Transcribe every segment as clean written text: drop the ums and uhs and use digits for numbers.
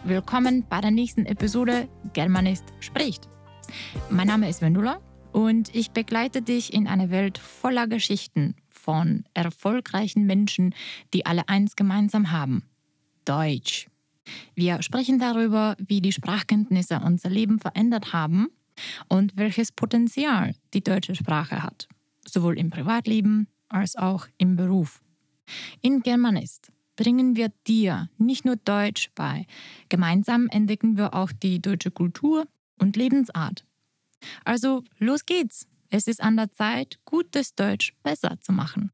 Willkommen bei der nächsten Episode Germanist spricht. Mein Name ist Vendula und ich begleite dich in eine Welt voller Geschichten von erfolgreichen Menschen, die alle eins gemeinsam haben: Deutsch. Wir sprechen darüber, wie die Sprachkenntnisse unser Leben verändert haben und welches Potenzial die deutsche Sprache hat, sowohl im Privatleben als auch im Beruf. In Germanist bringen wir dir nicht nur Deutsch bei, gemeinsam entdecken wir auch die deutsche Kultur und Lebensart. Also los geht's! Es ist an der Zeit, gutes Deutsch besser zu machen.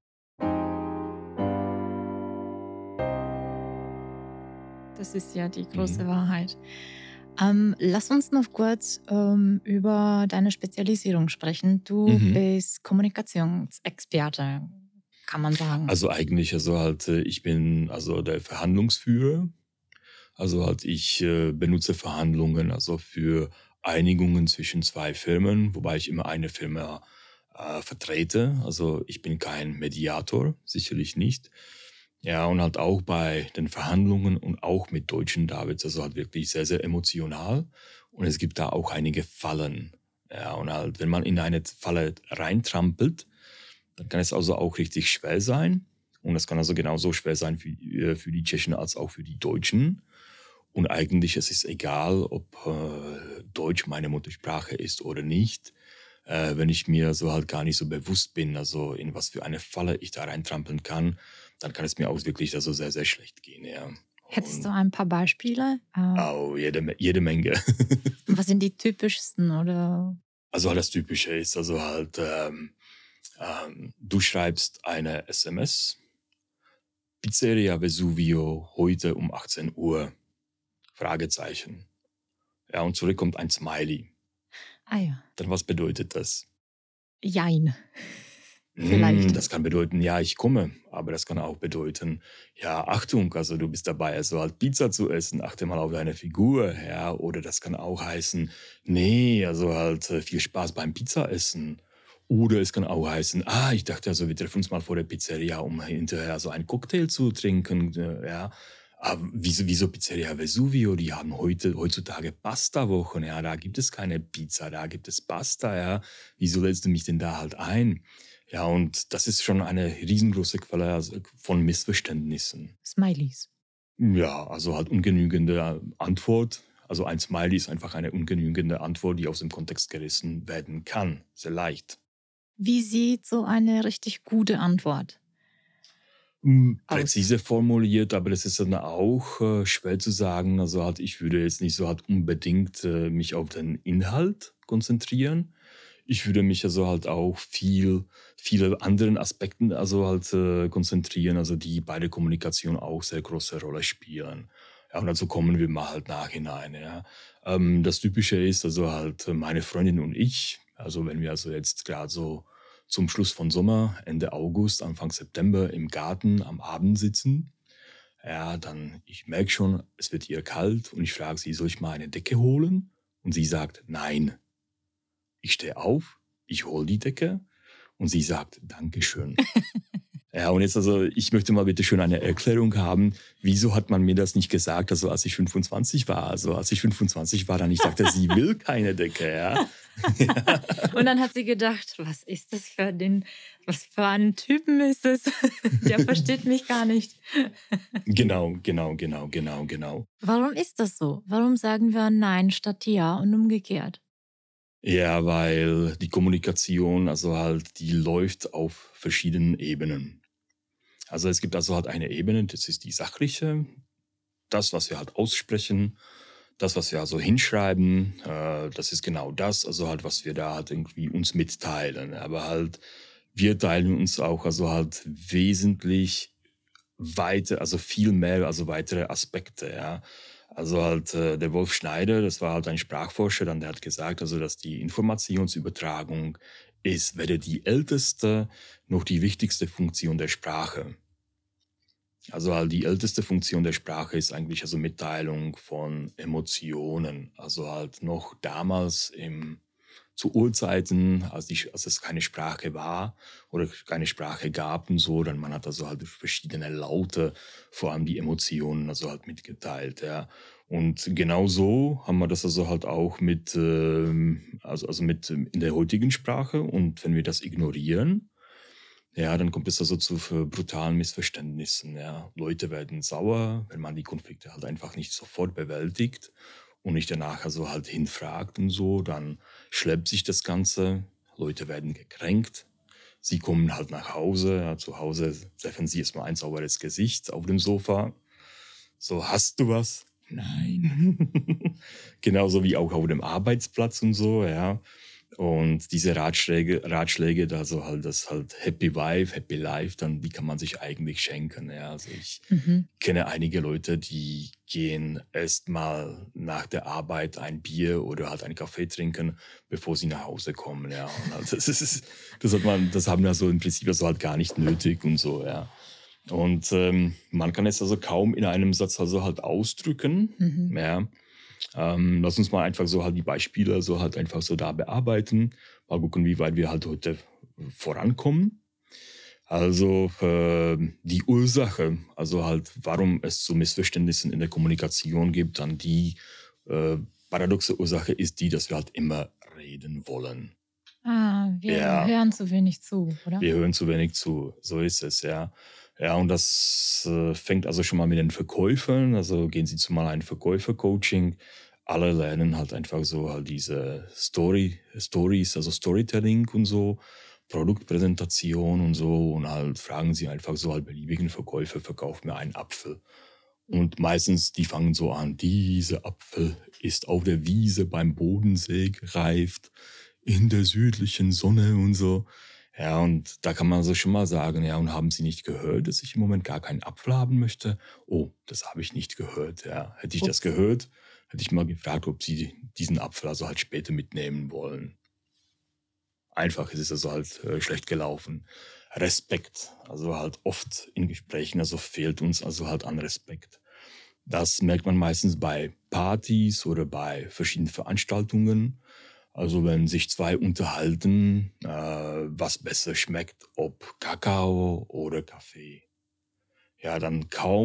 Das ist ja die große Wahrheit. Lass uns noch kurz über deine Spezialisierung sprechen. Du bist Kommunikationsexperte, kann man sagen. Also eigentlich, ich bin der Verhandlungsführer. Ich benutze Verhandlungen für Einigungen zwischen zwei Firmen, wobei ich immer eine Firma vertrete. Also ich bin kein Mediator, sicherlich nicht. Ja, und halt auch bei den Verhandlungen und auch mit Deutschen, da wird es wirklich sehr, sehr emotional. Und es gibt da auch einige Fallen. Ja, und halt, wenn man in eine Falle reintrampelt, dann kann es also auch richtig schwer sein. Und das kann also genauso schwer sein für die Tschechen als auch für die Deutschen. Und eigentlich es ist egal, ob Deutsch meine Muttersprache ist oder nicht. Wenn ich mir gar nicht so bewusst bin, also in was für eine Falle ich da reintrampeln kann, dann kann es mir auch wirklich sehr, sehr schlecht gehen. Ja. Hättest du ein paar Beispiele? Jede Menge. Was sind die typischsten? Oder? Also das Typische ist du schreibst eine SMS, Pizzeria Vesuvio, heute um 18 Uhr, Fragezeichen. Ja, und zurück kommt ein Smiley. Ah ja. Dann was bedeutet das? Jein. Vielleicht. Das kann bedeuten, ja, ich komme. Aber das kann auch bedeuten, ja, Achtung, also du bist dabei, Pizza zu essen, achte mal auf deine Figur. Ja, oder das kann auch heißen, nee, viel Spaß beim Pizzaessen. Oder es kann auch heißen, ich dachte, wir treffen uns mal vor der Pizzeria, um hinterher einen Cocktail zu trinken. Ja. Aber wieso Pizzeria Vesuvio? Die haben heutzutage Pasta-Wochen. Ja, da gibt es keine Pizza, da gibt es Pasta. Ja. Wieso lädst du mich denn da halt ein? Ja, und das ist schon eine riesengroße Quelle von Missverständnissen. Smileys. Ja, ungenügende Antwort. Also ein Smiley ist einfach eine ungenügende Antwort, die aus dem Kontext gerissen werden kann. Sehr leicht. Wie sieht so eine richtig gute Antwort präzise formuliert, aber das ist dann auch schwer zu sagen. Ich würde jetzt nicht unbedingt mich auf den Inhalt konzentrieren. Ich würde mich auch viele anderen Aspekten konzentrieren, die bei der Kommunikation auch sehr große Rolle spielen. Ja, und dazu kommen wir mal nachhinein. Ja. Das Typische ist meine Freundin und ich, wenn wir jetzt gerade so zum Schluss von Sommer, Ende August, Anfang September im Garten am Abend sitzen, ja, dann ich merke schon, es wird ihr kalt und ich frage sie, soll ich mal eine Decke holen? Und sie sagt, nein. Ich stehe auf, ich hole die Decke und sie sagt, Dankeschön. Ja, und jetzt ich möchte mal bitte schön eine Erklärung haben. Wieso hat man mir das nicht gesagt, als ich 25 war? Als ich 25 war, dann ich sagte, sie will keine Decke, ja. Ja. Und dann hat sie gedacht, was für ein Typen ist es? Der versteht mich gar nicht. Genau. Warum ist das so? Warum sagen wir Nein statt Ja und umgekehrt? Ja, weil die Kommunikation, die läuft auf verschiedenen Ebenen. Also es gibt eine Ebene, das ist die sachliche, das, was wir aussprechen, das, was wir hinschreiben, das ist genau das, was wir da irgendwie uns mitteilen. Aber wir teilen uns auch wesentlich weiter, viel mehr, weitere Aspekte, ja. Der Wolf Schneider, das war ein Sprachforscher, der hat gesagt, dass die Informationsübertragung ist weder die älteste noch die wichtigste Funktion der Sprache. Die älteste Funktion der Sprache ist eigentlich Mitteilung von Emotionen. Noch damals im zu Urzeiten, als es keine Sprache war oder keine Sprache gab und so, dann man hat also halt durch verschiedene Laute vor allem die Emotionen also halt mitgeteilt, ja. Und genau so haben wir das also halt auch mit, mit in der heutigen Sprache. Und wenn wir das ignorieren, ja, dann kommt es also zu brutalen Missverständnissen. Ja. Leute werden sauer, wenn man die Konflikte halt einfach nicht sofort bewältigt und nicht danach also halt hinfragt und so. Dann schleppt sich das Ganze. Leute werden gekränkt. Sie kommen halt nach Hause. Ja, zu Hause treffen sie erstmal ein sauberes Gesicht auf dem Sofa. So, hast du was? Nein. Genauso wie auch auf dem Arbeitsplatz und so, ja. Und diese Ratschläge, da so halt das halt Happy Wife, Happy Life, dann die kann man sich eigentlich schenken. Ja. Also ich kenne einige Leute, die gehen erst mal nach der Arbeit ein Bier oder halt einen Kaffee trinken, bevor sie nach Hause kommen. Ja. Und halt, das haben wir so im Prinzip also halt gar nicht nötig und so, ja. Und man kann es also kaum in einem Satz also halt ausdrücken. Ja. Lass uns mal einfach so halt die Beispiele so halt einfach so da bearbeiten. Mal gucken, wie weit wir halt heute vorankommen. Also die Ursache, also halt, warum es zu Missverständnissen in der Kommunikation gibt, dann die paradoxe Ursache ist die, dass wir halt immer reden wollen. Wir hören zu wenig zu, oder? Wir hören zu wenig zu, so ist es, ja. Ja, und das fängt also schon mal mit den Verkäufern. Also gehen Sie zu mal ein Verkäufer-Coaching. Alle lernen halt einfach so halt diese Stories, also Storytelling und so, Produktpräsentation und so. Und halt fragen Sie einfach so halt beliebigen Verkäufer, verkauf mir einen Apfel. Und meistens, die fangen so an, dieser Apfel ist auf der Wiese beim Bodensee gereift, in der südlichen Sonne und so. Ja, und da kann man so schon mal sagen, ja, und haben Sie nicht gehört, dass ich im Moment gar keinen Apfel haben möchte? Oh, das habe ich nicht gehört, ja. Hätte ich das gehört, hätte ich mal gefragt, ob Sie diesen Apfel also halt später mitnehmen wollen. Einfach ist es also halt schlecht gelaufen. Respekt, also halt oft in Gesprächen, also fehlt uns also halt an Respekt. Das merkt man meistens bei Partys oder bei verschiedenen Veranstaltungen. Also wenn sich zwei unterhalten, was besser schmeckt, ob Kakao oder Kaffee. Ja, dann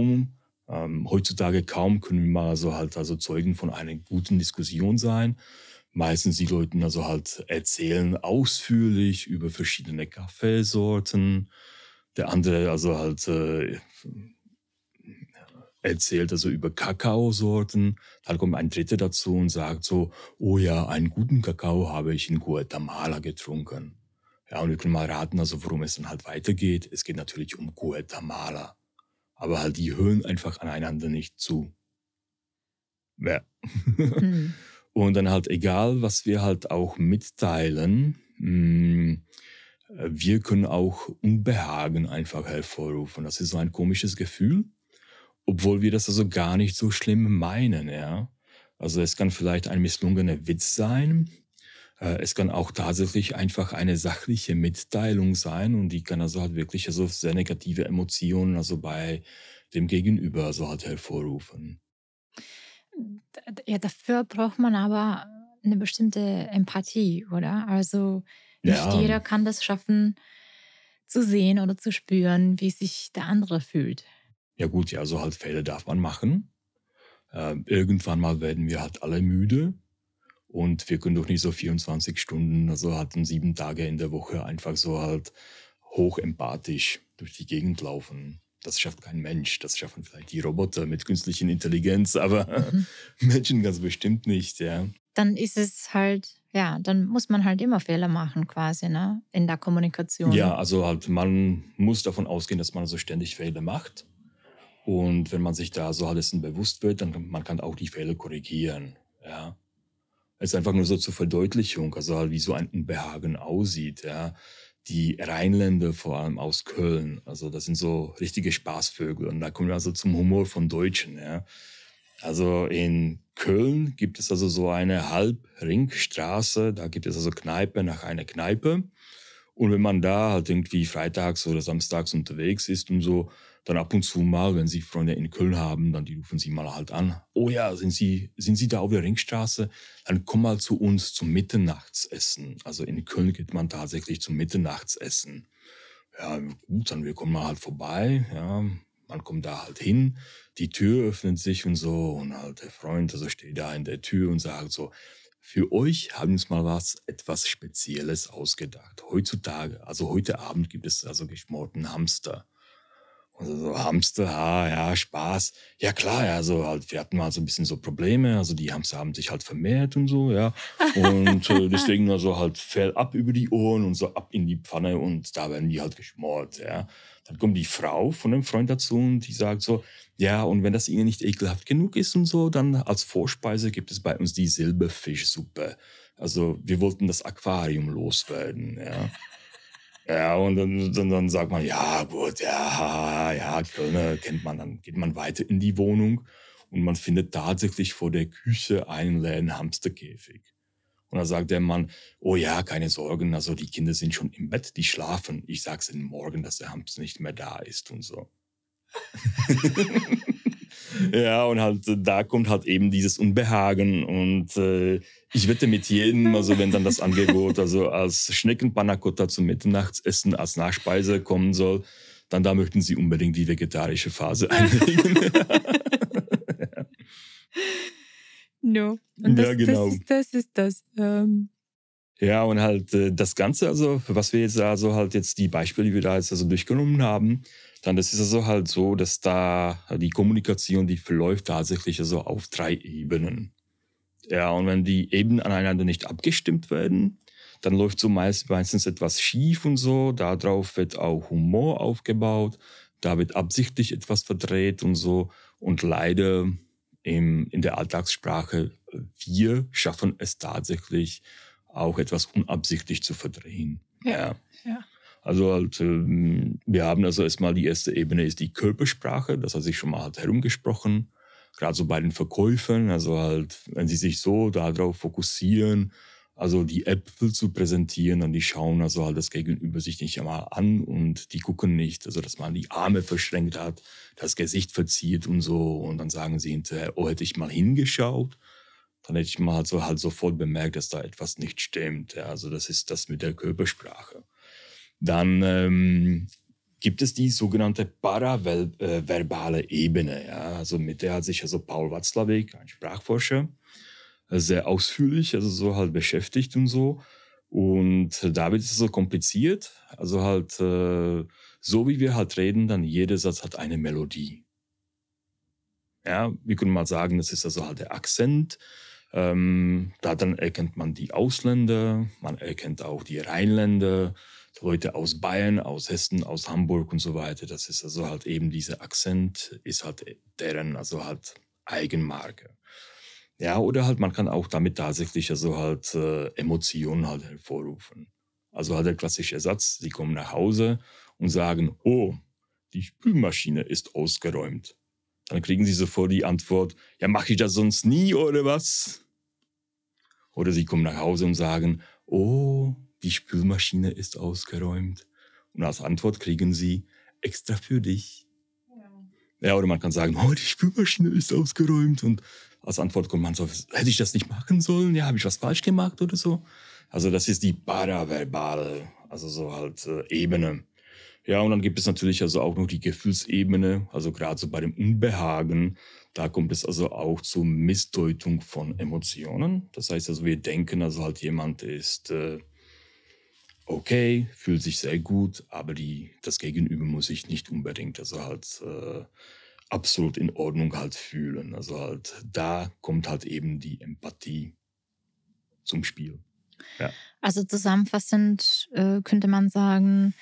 heutzutage kaum können wir mal also Zeugen von einer guten Diskussion sein. Meistens die Leute also halt erzählen ausführlich über verschiedene Kaffeesorten. Der andere also halt erzählt also über Kakaosorten. Dann kommt ein Dritter dazu und sagt so, oh ja, einen guten Kakao habe ich in Guatemala getrunken. Ja, und wir können mal raten, also worum es dann halt weitergeht. Es geht natürlich um Guatemala. Aber halt die hören einfach aneinander nicht zu. Ja. Und dann halt egal, was wir halt auch mitteilen, wir können auch Unbehagen einfach hervorrufen. Das ist so ein komisches Gefühl. Obwohl wir das also gar nicht so schlimm meinen, ja. Also es kann vielleicht ein misslungener Witz sein. Es kann auch tatsächlich einfach eine sachliche Mitteilung sein und die kann also halt wirklich also sehr negative Emotionen also bei dem Gegenüber also halt hervorrufen. Ja, dafür braucht man aber eine bestimmte Empathie, oder? Also nicht Ja, jeder kann das schaffen, zu sehen oder zu spüren, wie sich der andere fühlt. ja gut, ja, so halt Fehler darf man machen. Irgendwann mal werden wir halt alle müde. Und wir können doch nicht so 24 Stunden, also halt 7 Tage in der Woche einfach so halt hochempathisch durch die Gegend laufen. Das schafft kein Mensch. Das schaffen vielleicht die Roboter mit künstlicher Intelligenz, aber Menschen ganz bestimmt nicht, ja. Dann ist es halt, ja, dann muss man halt immer Fehler machen quasi, ne? In der Kommunikation. Ja, also halt, man muss davon ausgehen, dass man so ständig Fehler macht. Und wenn man sich da so alles bewusst wird, dann man kann auch die Fehler korrigieren, ja. Es ist einfach nur so zur Verdeutlichung, also halt wie so ein Unbehagen aussieht, ja. Die Rheinländer, vor allem aus Köln, also das sind so richtige Spaßvögel und da kommen wir also zum Humor von Deutschen, ja. Also in Köln gibt es also so eine Halbringstraße, da gibt es also Kneipe nach einer Kneipe Und wenn man da halt irgendwie freitags oder samstags unterwegs ist und so, dann ab und zu mal, wenn Sie Freunde in Köln haben, dann die rufen Sie mal halt an. Oh ja, sind Sie da auf der Ringstraße? Dann komm mal zu uns zum Mitternachtsessen. Also in Köln geht man tatsächlich zum Mitternachtsessen. Ja, gut, dann wir kommen mal halt vorbei. Ja, man kommt da halt hin. Die Tür öffnet sich und so. Und halt der Freund, also steht da in der Tür und sagt so, für euch haben wir uns mal etwas Spezielles ausgedacht. Heutzutage, also heute Abend gibt es also geschmorten Hamster. Also so Hamster, ja, Spaß. Ja klar, ja, so halt, wir hatten mal so ein bisschen so Probleme, also die Hamster haben sich halt vermehrt und so, ja. Und deswegen also halt Fell ab über die Ohren und so ab in die Pfanne und da werden die halt geschmort, ja. Dann kommt die Frau von dem Freund dazu und die sagt so, ja, und wenn das ihnen nicht ekelhaft genug ist und so, dann als Vorspeise gibt es bei uns die Silberfischsuppe. Also wir wollten das Aquarium loswerden, ja. Ja, und dann sagt man, ja gut, ja, Kölner kennt man, dann geht man weiter in die Wohnung und man findet tatsächlich vor der Küche einen leeren Hamsterkäfig. Und dann sagt der Mann, oh ja, keine Sorgen, also die Kinder sind schon im Bett, die schlafen. Ich sag's ihnen morgen, dass der Hamster nicht mehr da ist und so. Ja, und halt da kommt halt eben dieses Unbehagen und ich wette mit jedem, also wenn dann das Angebot also als Schneckenpanna Cotta zum Mitternachtsessen als Nachspeise kommen soll, dann da möchten sie unbedingt die vegetarische Phase einlegen. No. Und Ja, genau. das ist das. Ja, und halt das Ganze, also was wir jetzt also halt jetzt die Beispiele, die wir da jetzt also durchgenommen haben, dann das ist also halt so, dass da die Kommunikation, die verläuft tatsächlich also auf 3 Ebenen. Ja, und wenn die Ebenen aneinander nicht abgestimmt werden, dann läuft so meistens etwas schief und so. Darauf wird auch Humor aufgebaut, da wird absichtlich etwas verdreht und so. Und leider in der Alltagssprache, wir schaffen es tatsächlich, auch etwas unabsichtlich zu verdrehen. Ja. Also halt, wir haben also erstmal die erste Ebene ist die Körpersprache, das hat sich schon mal halt herumgesprochen. Gerade so bei den Verkäufern, also halt, wenn sie sich so darauf fokussieren, also die Äpfel zu präsentieren, dann die schauen also halt das Gegenüber sich nicht einmal an und die gucken nicht, also dass man die Arme verschränkt hat, das Gesicht verzieht und so und dann sagen sie hinterher, oh, hätte ich mal hingeschaut, dann hätte ich mal halt sofort bemerkt, dass da etwas nicht stimmt. Ja, also das ist das mit der Körpersprache. Dann gibt es die sogenannte paraverbale Ebene. Ja, also mit der hat sich also Paul Watzlawick, ein Sprachforscher, sehr ausführlich, also so halt beschäftigt und so. Und da wird es so kompliziert. Also halt so wie wir halt reden, dann jeder Satz hat eine Melodie. Ja, wir können mal sagen, das ist also halt der Akzent. Da dann erkennt man die Ausländer, man erkennt auch die Rheinländer, Leute aus Bayern, aus Hessen, aus Hamburg und so weiter. Das ist also halt eben dieser Akzent, ist halt deren also halt Eigenmarke. Ja, oder halt man kann auch damit tatsächlich also halt Emotionen halt hervorrufen. Also halt der klassische Satz, sie kommen nach Hause und sagen, oh, die Spülmaschine ist ausgeräumt. Dann kriegen sie sofort die Antwort, ja, mache ich das sonst nie oder was? Oder sie kommen nach Hause und sagen, oh, die Spülmaschine ist ausgeräumt. Und als Antwort kriegen sie, extra für dich. Ja, oder man kann sagen, oh, die Spülmaschine ist ausgeräumt. Und als Antwort kommt man so, hätte ich das nicht machen sollen? Ja, habe ich was falsch gemacht oder so? Also das ist die paraverbale, also so halt Ebene. Ja, und dann gibt es natürlich also auch noch die Gefühlsebene, also gerade so bei dem Unbehagen, da kommt es also auch zur Missdeutung von Emotionen. Das heißt also, wir denken also halt jemand ist okay, fühlt sich sehr gut, aber das Gegenüber muss sich nicht unbedingt also halt absolut in Ordnung halt fühlen. Also halt da kommt halt eben die Empathie zum Spiel. Ja. Also zusammenfassend könnte man sagen,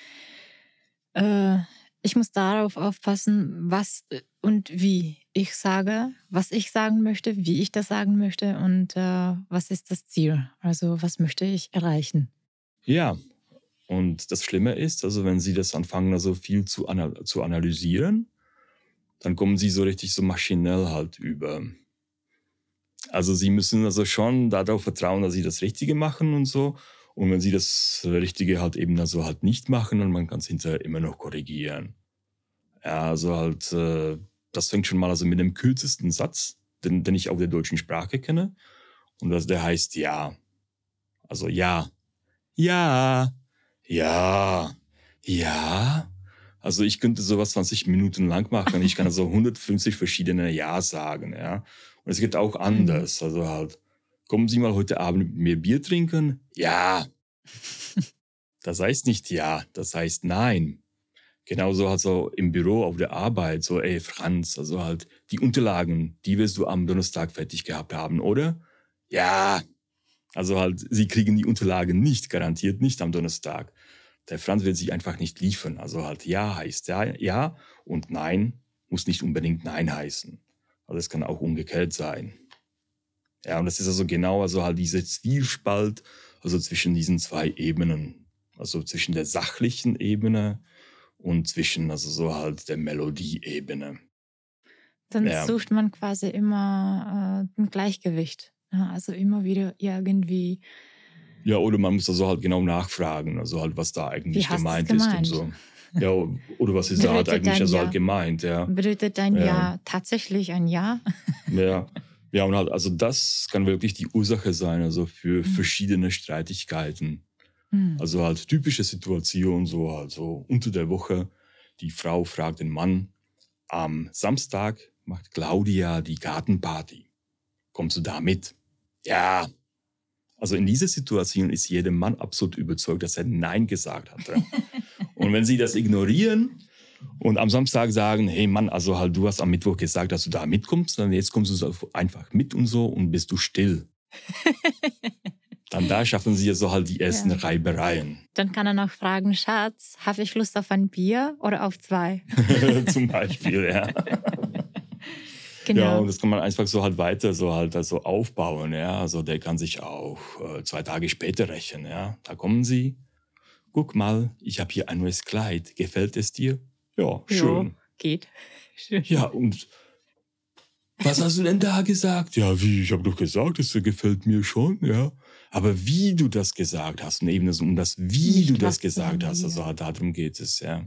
ich muss darauf aufpassen, was und wie ich sage, was ich sagen möchte, wie ich das sagen möchte und was ist das Ziel? Also was möchte ich erreichen? Ja, und das Schlimme ist, also wenn Sie das anfangen, also viel zu analysieren, dann kommen Sie so richtig so maschinell halt über. Also Sie müssen also schon darauf vertrauen, dass Sie das Richtige machen und so. Und wenn sie das Richtige halt eben also halt nicht machen, dann man kann es hinterher immer noch korrigieren. Ja, also halt, das fängt schon mal also mit dem kürzesten Satz, den ich auf der deutschen Sprache kenne. Und der heißt ja. Also ja. Ja. Ja. Ja. Also ich könnte sowas 20 Minuten lang machen. Ich kann also 150 verschiedene Ja sagen, ja. Und es geht auch anders. Also halt, kommen Sie mal heute Abend mit mir Bier trinken? Ja. Das heißt nicht ja, das heißt nein. Genauso halt so im Büro, auf der Arbeit, so, ey Franz, also halt die Unterlagen, die wirst du am Donnerstag fertig gehabt haben, oder? Ja. Also halt, sie kriegen die Unterlagen nicht, garantiert nicht am Donnerstag. Der Franz wird sich einfach nicht liefern. Also halt ja heißt ja und nein muss nicht unbedingt nein heißen. Also es kann auch umgekehrt sein. Ja, und das ist also genau also halt diese Zwiespalt, also zwischen diesen zwei Ebenen. Also zwischen der sachlichen Ebene und zwischen also so halt der Melodieebene. Dann Ja. sucht man quasi immer ein Gleichgewicht. Ja, also immer wieder irgendwie. Ja, oder man muss also halt genau nachfragen, also halt, was da eigentlich gemeint ist und so. Ja, oder was ist da halt eigentlich also halt gemeint, ja. Bedeutet dein Ja tatsächlich ein Ja? Ja. Ja, und halt, also das kann wirklich die Ursache sein, also für verschiedene Streitigkeiten. Also halt typische Situationen, so also unter der Woche, die Frau fragt den Mann, am Samstag macht Claudia die Gartenparty. Kommst du da mit? Ja. Also in dieser Situation ist jeder Mann absolut überzeugt, dass er Nein gesagt hatte. Und wenn sie das ignorieren und am Samstag sagen, hey Mann, also halt du hast am Mittwoch gesagt, dass du da mitkommst, dann jetzt kommst du einfach mit und so und bist du still. Dann da schaffen sie so halt die ersten Reibereien. Dann kann er noch fragen, Schatz, habe ich Lust auf ein Bier oder auf 2? Zum Beispiel, ja. Genau. Ja, und das kann man einfach so halt weiter so halt also aufbauen, ja. Also der kann sich auch 2 Tage später rächen, ja. Da kommen sie, guck mal, ich habe hier ein neues Kleid, gefällt es dir? Ja, schön. Jo, geht. Schön. Ja, und was hast du denn da gesagt? Ja, wie, ich habe doch gesagt, es gefällt mir schon, ja. Aber wie du das gesagt hast, und eben um das, wie Nicht du das was, gesagt hast, sondern wie. also darum geht es, ja.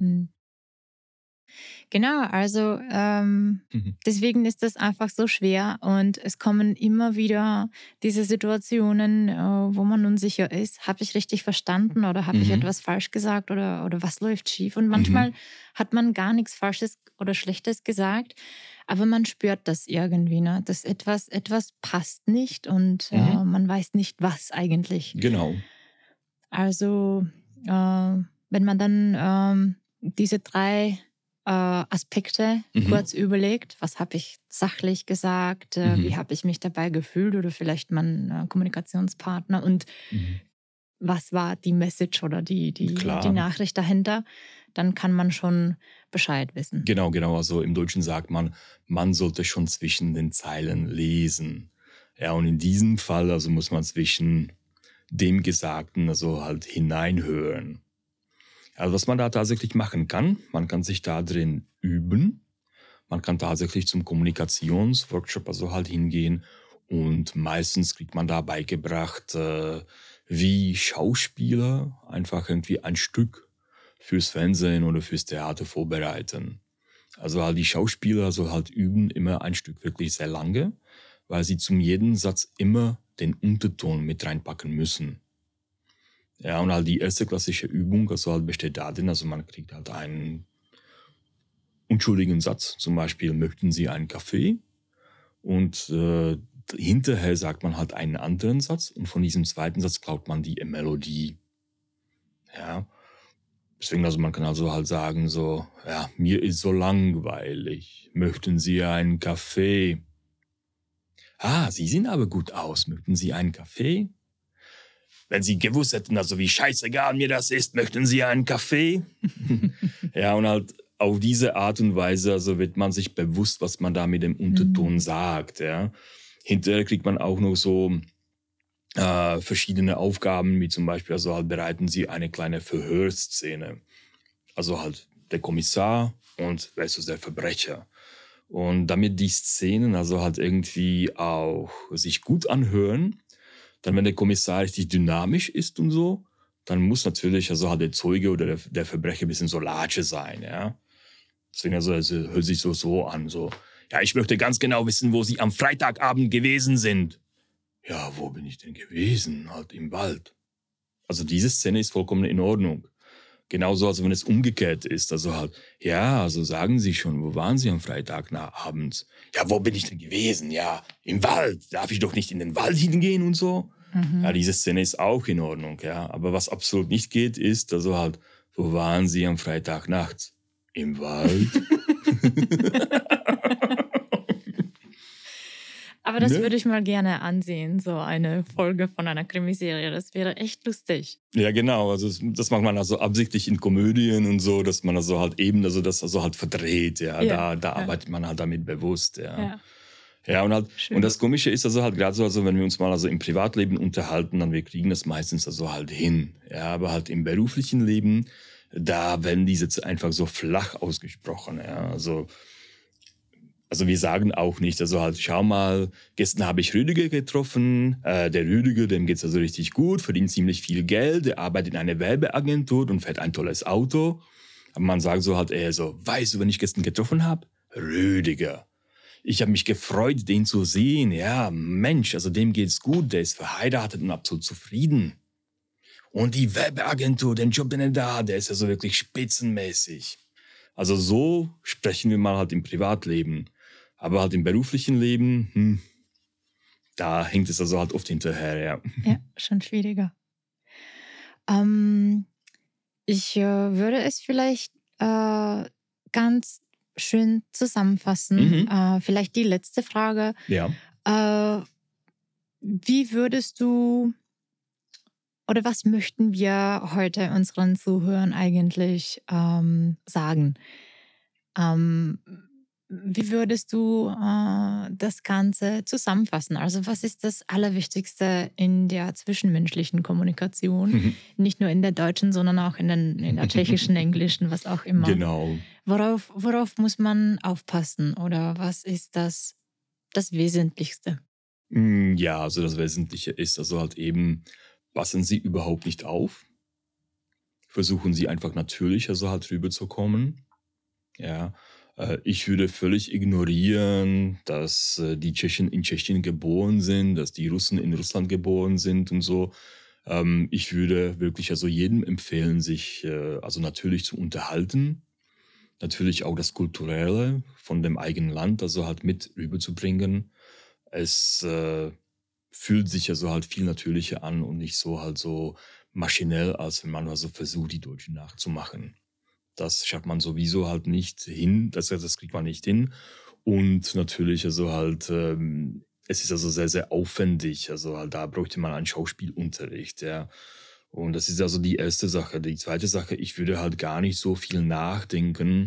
Genau, also deswegen ist das einfach so schwer und es kommen immer wieder diese Situationen, wo man unsicher ist. Habe ich richtig verstanden oder habe ich etwas falsch gesagt oder was läuft schief? Und manchmal hat man gar nichts Falsches oder Schlechtes gesagt, aber man spürt das irgendwie, ne? Dass etwas passt nicht und man weiß nicht, was eigentlich. Genau. Also wenn man dann diese 3 Aspekte kurz überlegt, was habe ich sachlich gesagt, wie habe ich mich dabei gefühlt oder vielleicht mein Kommunikationspartner und was war die Message oder die Nachricht dahinter, dann kann man schon Bescheid wissen. Genau. Also im Deutschen sagt man, man sollte schon zwischen den Zeilen lesen. Ja, und in diesem Fall also muss man zwischen dem Gesagten also halt hineinhören. Also was man da tatsächlich machen kann, man kann sich da drin üben. Man kann tatsächlich zum Kommunikationsworkshop also halt hingehen und meistens kriegt man da beigebracht, wie Schauspieler einfach irgendwie ein Stück fürs Fernsehen oder fürs Theater vorbereiten. Also halt die Schauspieler also halt üben immer ein Stück wirklich sehr lange, weil sie zum jeden Satz immer den Unterton mit reinpacken müssen. Ja, und halt die erste klassische Übung, also halt besteht darin, also man kriegt halt einen unschuldigen Satz, zum Beispiel, möchten Sie einen Kaffee? Und hinterher sagt man halt einen anderen Satz und von diesem zweiten Satz klaut man die Melodie. Ja, deswegen, also man kann also halt sagen so, ja, mir ist so langweilig, möchten Sie einen Kaffee? Ah, Sie sehen aber gut aus, möchten Sie einen Kaffee? Wenn Sie gewusst hätten, also wie scheißegal mir das ist, möchten Sie einen Kaffee? Ja, und halt auf diese Art und Weise also wird man sich bewusst, was man da mit dem Unterton sagt. Ja. Hinterher kriegt man auch noch so verschiedene Aufgaben, wie zum Beispiel, also halt bereiten Sie eine kleine Verhörszene. Also halt der Kommissar und versus der Verbrecher. Und damit die Szenen also halt irgendwie auch sich gut anhören, Dann, wenn der Kommissar richtig dynamisch ist und so, dann muss natürlich also halt der Zeuge oder der Verbrecher ein bisschen so Latsche sein, ja. Deswegen also hört sich so an, so, ja, ich möchte ganz genau wissen, wo Sie am Freitagabend gewesen sind. Ja, wo bin ich denn gewesen? Halt im Wald. Also diese Szene ist vollkommen in Ordnung. Genauso, als wenn es umgekehrt ist. Also halt, ja, also sagen Sie schon, wo waren Sie am Freitag abends? Ja, wo bin ich denn gewesen? Ja, im Wald. Darf ich doch nicht in den Wald hingehen und so? Ja, diese Szene ist auch in Ordnung, ja. Aber was absolut nicht geht, ist, also halt, wo waren Sie am Freitag nachts? Im Wald? Aber das würde ich mal gerne ansehen, so eine Folge von einer Krimiserie. Das wäre echt lustig. Ja, genau. Also das macht man also absichtlich in Komödien und so, dass man also halt eben, also das also halt verdreht, ja. Da arbeitet man halt damit bewusst, ja. Ja, und halt, und das Komische ist also halt gerade so, also wenn wir uns mal also im Privatleben unterhalten, dann wir kriegen das meistens also halt hin. Ja, aber halt im beruflichen Leben, da werden die Sätze einfach so flach ausgesprochen, ja. Also wir sagen auch nicht, also halt, schau mal, gestern habe ich Rüdiger getroffen. Der Rüdiger, dem geht's also richtig gut, verdient ziemlich viel Geld, der arbeitet in einer Werbeagentur und fährt ein tolles Auto. Aber man sagt so halt eher so, weißt du, wenn ich gestern getroffen habe? Rüdiger. Ich habe mich gefreut, den zu sehen. Ja, Mensch, also dem geht's gut, der ist verheiratet und absolut zufrieden. Und die Werbeagentur, den Job, den er da hat, der ist also wirklich spitzenmäßig. Also so sprechen wir mal halt im Privatleben. Aber halt im beruflichen Leben, da hängt es also halt oft hinterher, ja. Ja, schon schwieriger. Ich würde es vielleicht ganz schön zusammenfassen. Vielleicht die letzte Frage. Ja. Wie würdest du oder was möchten wir heute unseren Zuhörern eigentlich sagen? Wie würdest du das Ganze zusammenfassen? Also was ist das Allerwichtigste in der zwischenmenschlichen Kommunikation? Nicht nur in der deutschen, sondern auch in der tschechischen, englischen, was auch immer. Genau. Worauf muss man aufpassen? Oder was ist das Wesentlichste? Ja, also das Wesentliche ist also halt eben, passen Sie überhaupt nicht auf. Versuchen Sie einfach natürlich also halt rüberzukommen. Ja. Ich würde völlig ignorieren, dass die Tschechen in Tschechien geboren sind, dass die Russen in Russland geboren sind und so. Ich würde wirklich also jedem empfehlen, sich also natürlich zu unterhalten. Natürlich auch das Kulturelle von dem eigenen Land, also halt mit rüberzubringen. Es fühlt sich also halt viel natürlicher an und nicht so halt so maschinell, als wenn man also versucht, die Deutschen nachzumachen. Das schafft man sowieso halt nicht hin, das kriegt man nicht hin. Und natürlich also halt, es ist also sehr, sehr aufwendig. Also halt, da bräuchte man einen Schauspielunterricht, ja. Und das ist also die erste Sache. Die zweite Sache, ich würde halt gar nicht so viel nachdenken,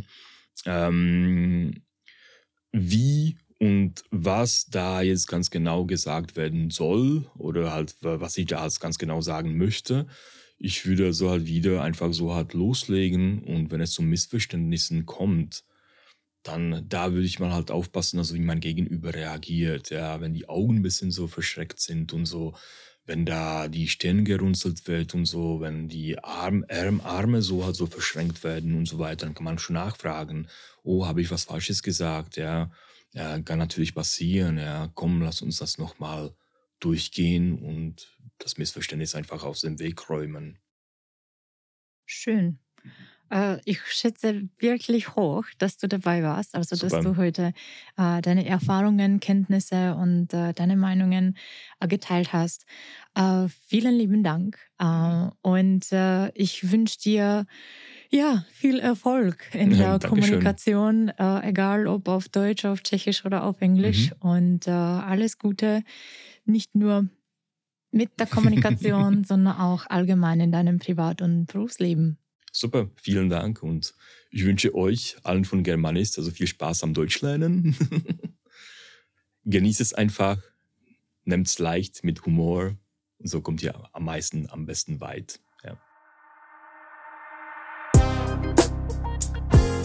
wie und was da jetzt ganz genau gesagt werden soll oder halt, was ich da jetzt ganz genau sagen möchte. Ich würde so halt wieder einfach so halt loslegen und wenn es zu Missverständnissen kommt, dann da würde ich mal halt aufpassen, also wie mein Gegenüber reagiert. Ja, wenn die Augen ein bisschen so verschreckt sind und so, wenn da die Stirn gerunzelt wird und so, wenn die Arme so halt so verschränkt werden und so weiter, dann kann man schon nachfragen, oh, habe ich was Falsches gesagt? Ja, kann natürlich passieren. Ja, komm, lass uns das nochmal durchgehen und das Missverständnis einfach aus dem Weg räumen. Schön. Ich schätze wirklich hoch, dass du dabei warst, also Super. dass du heute deine Erfahrungen, Kenntnisse und deine Meinungen geteilt hast. Vielen lieben Dank und ich wünsche dir viel Erfolg in der Dankeschön. Kommunikation, egal ob auf Deutsch, auf Tschechisch oder auf Englisch und alles Gute, nicht nur mit der Kommunikation, sondern auch allgemein in deinem Privat- und Berufsleben. Super, vielen Dank und ich wünsche euch allen von Germanist also viel Spaß am Deutschlernen. Genießt es einfach, nehmt es leicht mit Humor und so kommt ihr am besten weit. Ja.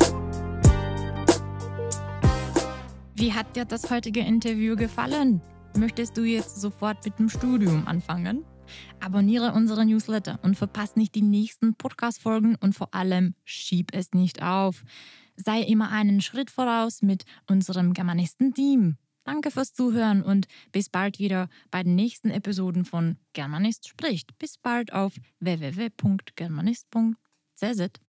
Wie hat dir das heutige Interview gefallen? Möchtest du jetzt sofort mit dem Studium anfangen? Abonniere unsere Newsletter und verpasse nicht die nächsten Podcast-Folgen und vor allem schieb es nicht auf. Sei immer einen Schritt voraus mit unserem Germanisten-Team. Danke fürs Zuhören und bis bald wieder bei den nächsten Episoden von Germanist spricht. Bis bald auf www.germanist.cz.